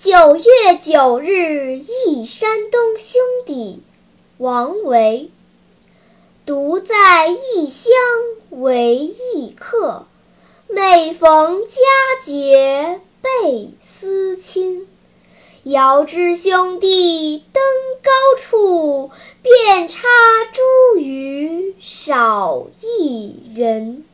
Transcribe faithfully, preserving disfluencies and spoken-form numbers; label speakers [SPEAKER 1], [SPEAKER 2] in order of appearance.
[SPEAKER 1] 九月九日忆山东兄弟，王维。独在异乡为异客，每逢佳节倍思亲。遥知兄弟登高处，遍插茱萸少一人。